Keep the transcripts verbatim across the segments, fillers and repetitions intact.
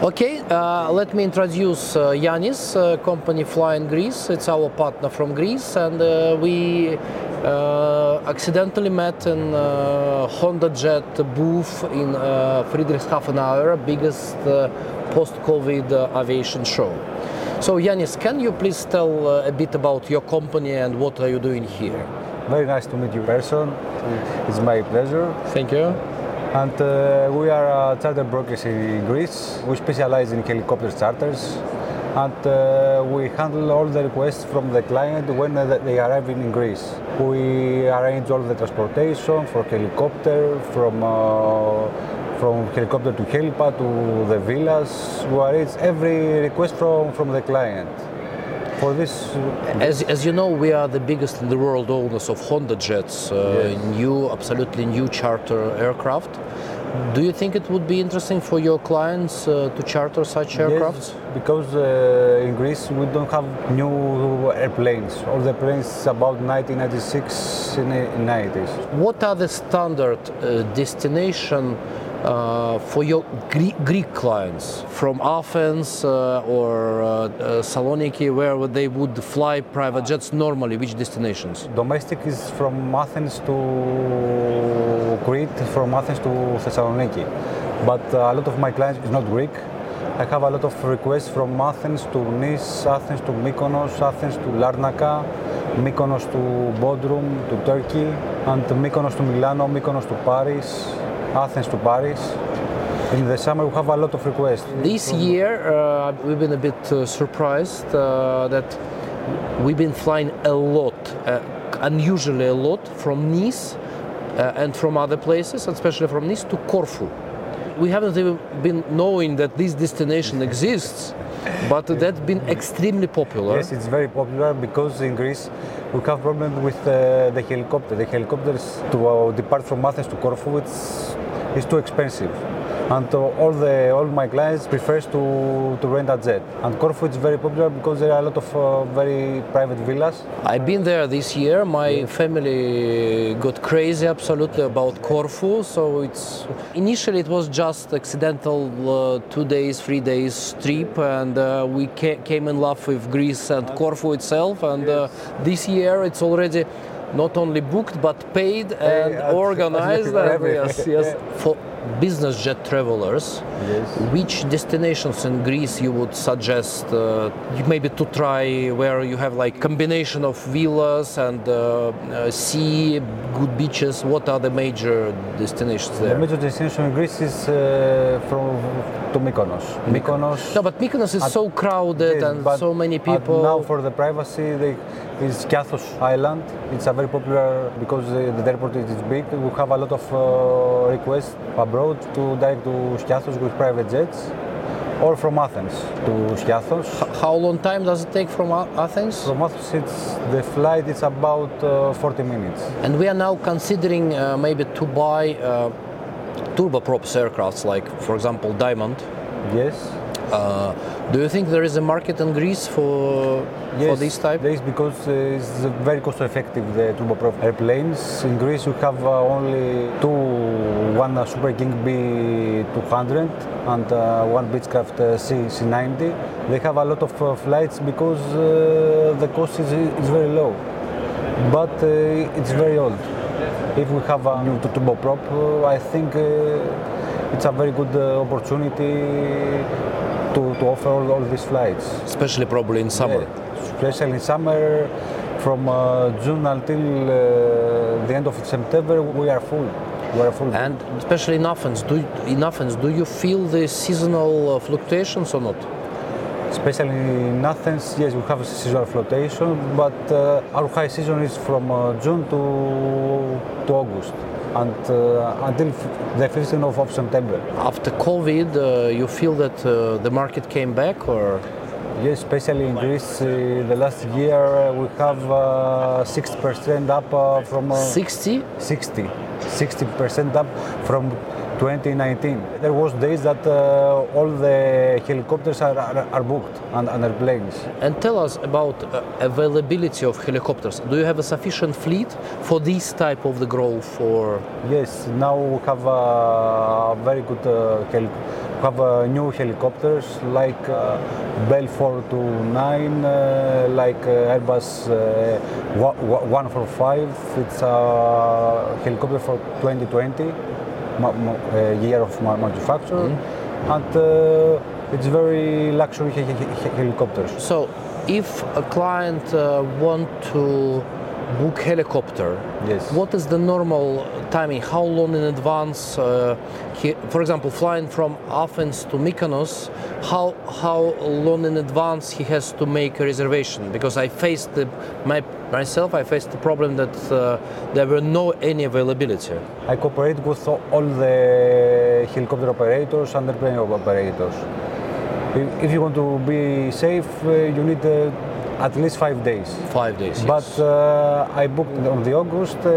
Okay, uh, let me introduce uh, Yanis, uh, company Flying Greece. It's our partner from Greece, and uh, we uh, accidentally met in uh, HondaJet booth in uh, Friedrichshafen, biggest uh, post-COVID uh, aviation show. So Yanis, can you please tell uh, a bit about your company and what are you doing here? Very nice to meet you in person. It's my pleasure. Thank you. And uh, we are uh, charter brokers in Greece. We specialize in helicopter charters, and uh, we handle all the requests from the client when uh, they arrive in Greece. We arrange all the transportation for helicopter, from uh, from helicopter to helipad to the villas. We arrange every request from, from the client. For this, as, as you know, we are the biggest in the world owners of HondaJets, uh, yes. new, absolutely new charter aircraft. Do you think it would be interesting for your clients uh, to charter such aircraft? Yes, because uh, in Greece we don't have new airplanes. All the planes about nineteen ninety-six in the nineties. What are the standard uh, destination Uh, for your Greek, Greek clients from Athens uh, or uh, uh, Saloniki, where they would fly private jets normally? Which destinations? Domestic is from Athens to Crete, from Athens to Thessaloniki. But uh, a lot of my clients is not Greek. I have a lot of requests from Athens to Nice, Athens to Mykonos, Athens to Larnaca, Mykonos to Bodrum, to Turkey, and Mykonos to Milano, Mykonos to Paris, Athens to Paris. In the summer we have a lot of requests. This year uh, we've been a bit uh, surprised uh, that we've been flying a lot, uh, unusually a lot, from Nice uh, and from other places, especially from Nice to Corfu. We haven't even been knowing that this destination exists, but that's been extremely popular. Yes, it's very popular because in Greece we have problems with uh, the helicopter. The helicopters to uh, depart from Athens to Corfu, it's, it's too expensive. And uh, all the all my clients prefers to, to rent a jet. And Corfu is very popular because there are a lot of uh, very private villas. I've been there this year. My yeah. family got crazy absolutely about Corfu. So it's initially it was just accidental uh, two days, three days trip, and uh, we ca came in love with Greece and Corfu itself. And uh, this year it's already not only booked but paid and uh, organized. And yes, yes. For business jet travelers, yes. Which destinations in Greece you would suggest uh, maybe to try, where you have like combination of villas and uh, uh, sea, good beaches? What are the major destinations there? The major destination in Greece is uh, from to Mykonos. Mykonos. No, but Mykonos is at, so crowded yes, and so many people. Now for the privacy, they, is Skiathos Island. It's a very popular because uh, the airport is big. We have a lot of uh, requests abroad to direct to Skiathos with private jets, or from Athens to Skiathos. How long time does it take from Athens? From Athens, it's, the flight is about uh, forty minutes. And we are now considering uh, maybe to buy uh, turboprops aircrafts, like for example Diamond. Yes. Uh, do you think there is a market in Greece for yes, for this type? Yes, because uh, it's very cost-effective, the turboprop airplanes. In Greece, we have uh, only two, one uh, Super King B two hundred and uh, one Beechcraft uh, C C ninety. They have a lot of uh, flights because uh, the cost is, is very low, but uh, it's very old. If we have a new turboprop, uh, I think uh, it's a very good uh, opportunity to, to offer all, all these flights. Especially probably in summer. Yeah, especially in summer, from uh, June until uh, the end of September, we are full. We are full. And especially in Athens, do, in Athens, do you feel the seasonal uh, fluctuations or not? Especially in Athens, yes, we have a seasonal fluctuation, but uh, our high season is from uh, June to, to August. And uh, until the fifteenth of September. After COVID, uh, you feel that uh, the market came back, or? Yes, especially in Greece, uh, the last year uh, we have uh, sixty percent up uh, from... Uh, sixty? sixty. sixty percent up from twenty nineteen. There was days that uh, all the helicopters are, are, are booked and, and airplanes. And tell us about uh, availability of helicopters. Do you have a sufficient fleet for this type of the growth? Or? Yes, now we have a very good uh, hel have uh, new helicopters like uh, Bell four twenty-nine, uh, like uh, Airbus uh, one forty-five. It's a helicopter for twenty twenty, ma- ma- uh, year of ma- manufacture, mm-hmm. and uh, it's very luxury he- he- helicopters. So, if a client uh, want to book helicopter, yes. What is the normal timing? How long in advance? Uh, he, for example, flying from Athens to Mykonos, how how long in advance he has to make a reservation? Because I faced the, my, myself, I faced the problem that uh, there were no any availability. I cooperate with all the helicopter operators and airplane operators. If, if you want to be safe, uh, you need uh, at least five days. Five days, But yes. uh, I booked on the August uh,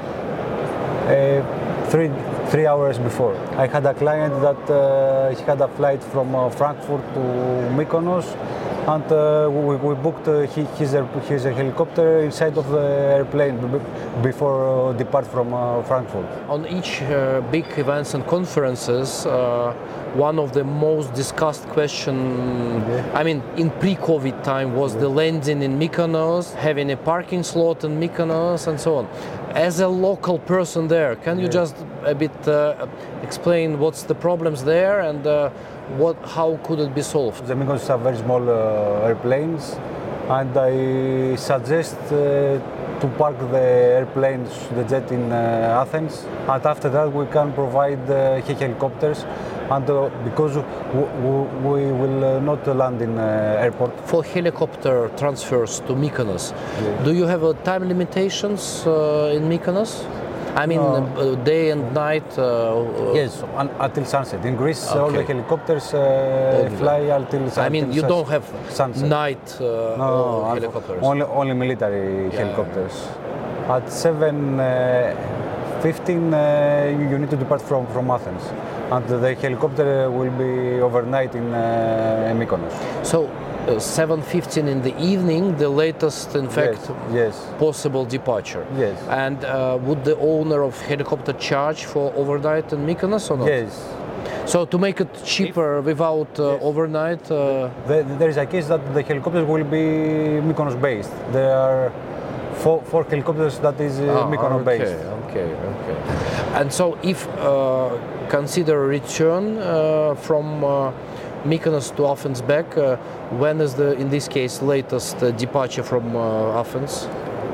uh, three three hours before. I had a client that uh, he had a flight from uh, Frankfurt to Mykonos, and uh, we, we booked uh, his, his helicopter inside of the airplane before uh, depart from uh, Frankfurt. On each uh, big events and conferences, uh, one of the most discussed question, yeah. I mean, in pre-COVID time, was yeah. the landing in Mykonos, having a parking slot in Mykonos, and so on. As a local person there, can you yeah. just a bit uh, explain what's the problems there and uh, what, how could it be solved? The Mykonos are very small uh, airplanes, and I suggest uh, to park the airplanes, the jet in uh, Athens, and after that we can provide uh, helicopters. And uh, because w- w- we will uh, not land in uh, airport. For helicopter transfers to Mykonos, yeah. do you have uh, time limitations uh, in Mykonos? I mean, no. uh, day and night? Uh, yes, un- until sunset. In Greece, okay. all the helicopters uh, fly until sunset. I mean, you don't have sunset. night uh, no, helicopters? Only, only military yeah. helicopters. At seven fifteen, uh, you need to depart from, from Athens. And the helicopter will be overnight in uh, Mykonos. So, uh, seven fifteen in the evening, the latest, in fact, yes, yes. possible departure. Yes. And uh, would the owner of helicopter charge for overnight in Mykonos or not? Yes. So to make it cheaper if, without uh, yes. overnight? Uh, the, there is a case that the helicopters will be Mykonos based. There are four, four helicopters that is uh, ah, Mykonos okay, based. Okay, okay. And so if uh, consider return uh, from uh, Mykonos to Athens back, uh, when is the, in this case, latest uh, departure from uh, Athens?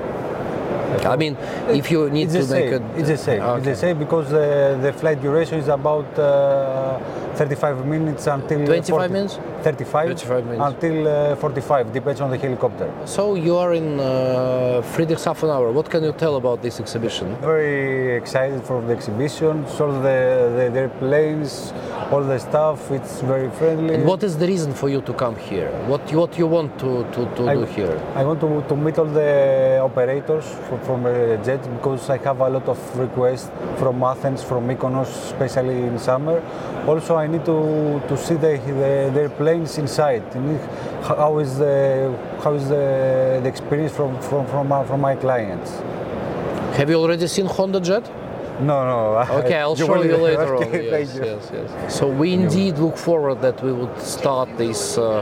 I mean, if you need it's to make it, it's the same. Okay. It's the same because uh, the flight duration is about uh, thirty-five minutes until twenty-five forty, minutes. thirty-five, thirty-five minutes until uh, forty-five. Depends on the helicopter. So you are in uh, Friedrichshafen. What can you tell about this exhibition? Very excited for the exhibition. So the, the, the airplanes, all the stuff. It's very friendly. And what is the reason for you to come here? What what you want to, to, to I, do here? I want to, to meet all the operators from, from uh, Jet because I have a lot of requests from Athens, from Mykonos, especially in summer. Also, I need to, to see the, the, their planes inside. How is the how is the, the experience from from from, uh, from my clients? Have you already seen Honda Jet? No, no. Okay, I'll you show you later okay, on. Yes, thank you. yes, yes. So we indeed look forward that we would start this uh,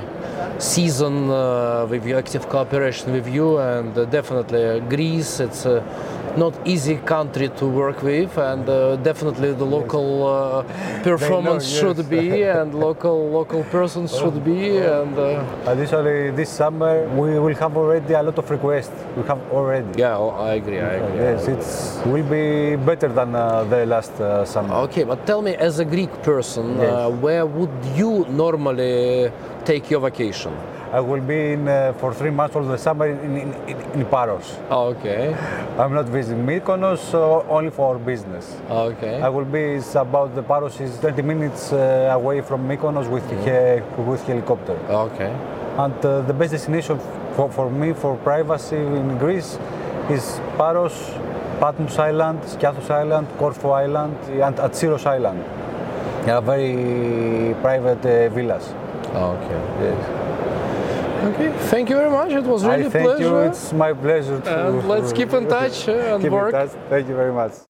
season uh, with your active cooperation with you, and uh, definitely uh, Greece. It's a not easy country to work with, and uh, definitely the local uh, performance know, yes. should be, and local local persons should be, and. Uh, Additionally, this summer we will have already a lot of requests. We have already. Yeah, I agree. I agree. Yes, it will be better than uh, the last uh, summer. Okay, but tell me, as a Greek person, yes. uh, where would you normally take your vacation? I will be in uh, for three months all the summer in, in, in, in Paros. Okay. I'm not visiting Mykonos, so only for business. Okay. I will be, it's about the Paros is thirty minutes uh, away from Mykonos with, mm-hmm. he, with helicopter. Okay. And uh, the best destination for, for me, for privacy in Greece, is Paros, Patmos Island, Skiathos Island, Corfu Island, and Atsiros Island. They are very private uh, villas. Okay. Yes. Okay, thank you very much. It was really I a thank pleasure. you. It's my pleasure to. And let's keep in touch uh, and keep work. In touch. Thank you very much.